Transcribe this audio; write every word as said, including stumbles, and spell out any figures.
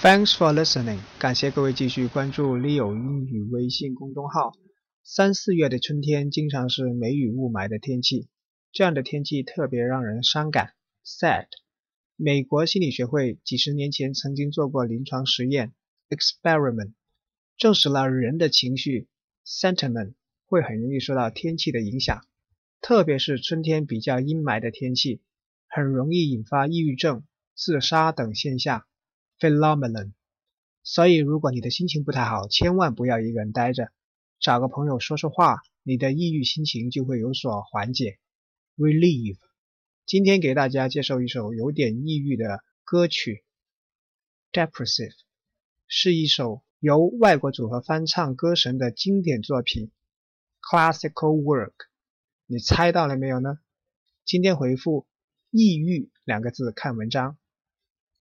Thanks for listening， 感谢各位继续关注 Leo 英语微信公众号。三四月的春天经常是梅雨雾霾的天气，这样的天气特别让人伤感 sad。 美国心理学会几十年前曾经做过临床实验 experiment， 证实了人的情绪 sentiment 会很容易受到天气的影响，特别是春天比较阴霾的天气，很容易引发抑郁症、自杀等现象phenomenon。 所以如果你的心情不太好，千万不要一个人待着，找个朋友说说话，你的抑郁心情就会有所缓解 relieve。 今天给大家介绍一首有点抑郁的歌曲 Depressive， 是一首由外国组合翻唱歌神的经典作品 classical work。 你猜到了没有呢？今天回复抑郁两个字看文章。